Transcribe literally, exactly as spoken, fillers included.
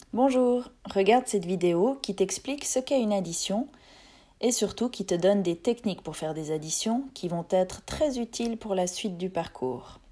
Bonjour, regarde cette vidéo qui t'explique ce qu'est une addition et surtout qui te donne des techniques pour faire des additions qui vont être très utiles pour la suite du parcours.